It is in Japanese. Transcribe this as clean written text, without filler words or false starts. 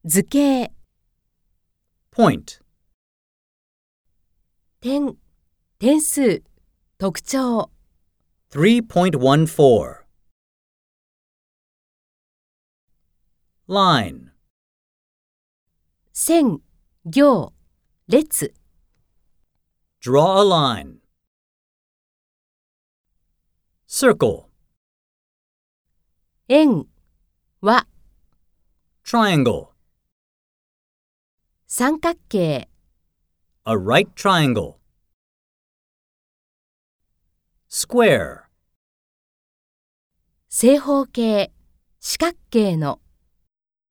図形、 point, 点、点数、特徴、 3.14. Line, 線、行、列、 draw a line. Circle, 円、和、 triangle, 三角形、 a right triangle. Square, 正方形、四角形の